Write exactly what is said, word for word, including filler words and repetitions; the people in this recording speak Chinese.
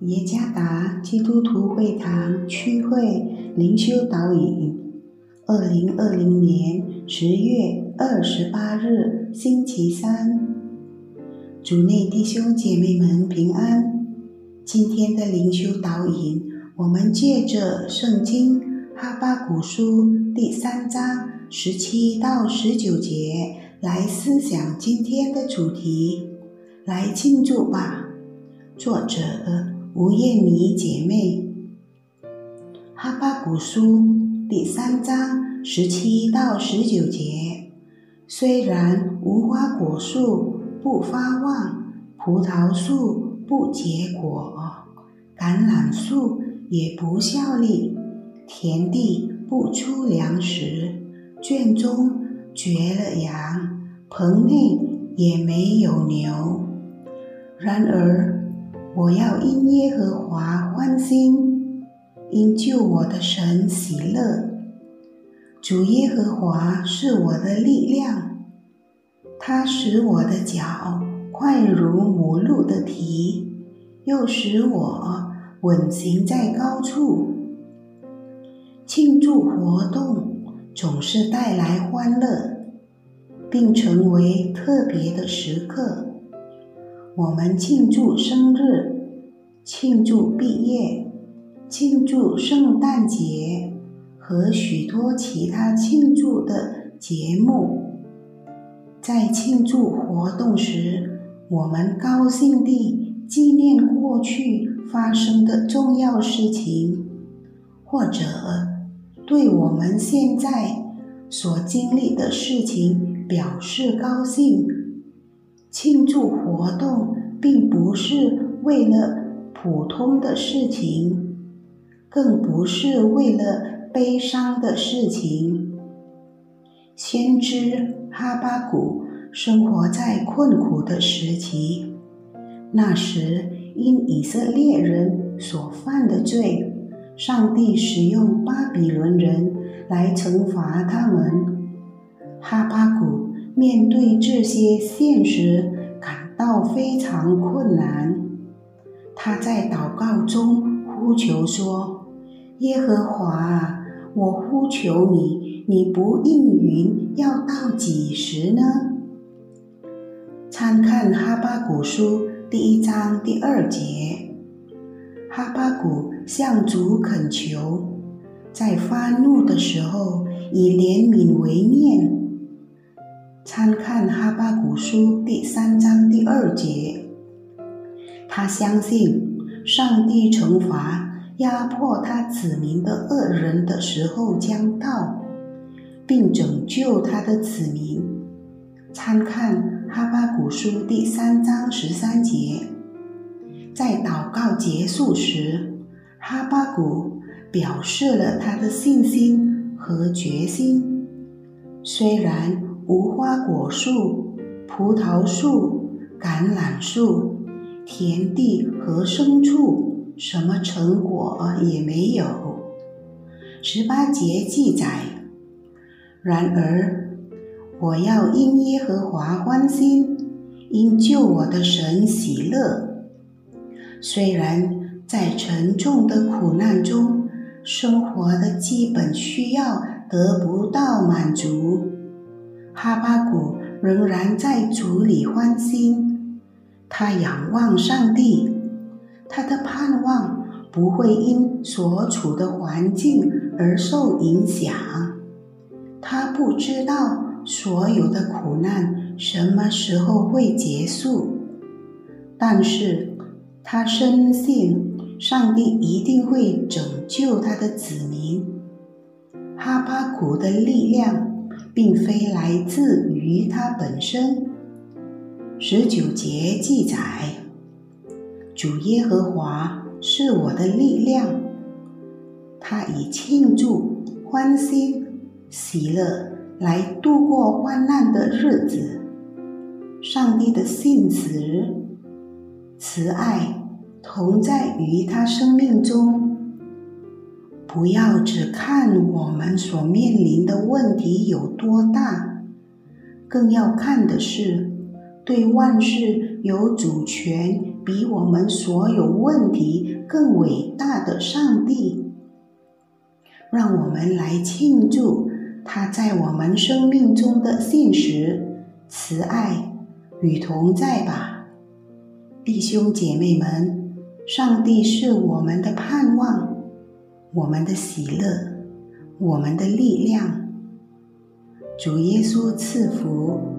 耶加达基督徒会堂区会灵修导引，二零二零年十月二十八日星期三，主内弟兄姐妹们平安。今天的灵修导引，我们借着圣经哈巴谷书第三章十七到十九节来思想今天的主题，来庆祝吧。作者吴燕妮姐妹。哈巴谷书第三章十七到十九节，虽然无花果树不发旺，葡萄树不结果，橄榄树也不效力，田地不出粮食，圈中绝了羊，棚内也没有牛。然而我要因耶和华欢心，因救我的神喜乐。主耶和华是我的力量，他使我的脚快如母鹿的蹄，又使我稳行在高处。庆祝活动总是带来欢乐，并成为特别的时刻。我们庆祝生日，庆祝毕业，庆祝圣诞节和许多其他庆祝的节目。在庆祝活动时，我们高兴地纪念过去发生的重要事情，或者对我们现在所经历的事情表示高兴。庆祝活动并不是为了普通的事情，更不是为了悲伤的事情。先知哈巴谷生活在困苦的时期，那时因以色列人所犯的罪，上帝使用巴比伦人来惩罚他们。哈巴谷面对这些现实感到非常困难，他在祷告中呼求说：耶和华，我呼求你，你不应允，要到几时呢？参看哈巴谷书第一章第二节，哈巴谷向主恳求，在发怒的时候以怜悯为念。参看哈巴谷书第三章第二节，他相信上帝惩罚压迫他子民的恶人的时候将到，并拯救他的子民。参看哈巴谷书第三章十三节，在祷告结束时，哈巴谷表示了他的信心和决心。虽然无花果树、葡萄树、橄榄树、田地和牲畜什么成果也没有。十八节记载，然而我要因耶和华欢心，因救我的神喜乐。虽然在沉重的苦难中，生活的基本需要得不到满足，哈巴谷仍然在主里欢心。他仰望上帝，他的盼望不会因所处的环境而受影响。他不知道所有的苦难什么时候会结束，但是他深信上帝一定会拯救他的子民。哈巴谷的力量并非来自于他本身。十九节记载，主耶和华是我的力量，他以庆祝、欢欣、喜乐来度过患难的日子。上帝的信实、慈爱同在于他生命中。不要只看我们所面临的问题有多大，更要看的是对万事有主权比我们所有问题更伟大的上帝。让我们来庆祝他在我们生命中的信实、慈爱与同在吧。弟兄姐妹们，上帝是我们的盼望，我们的喜乐，我们的力量。主耶稣赐福。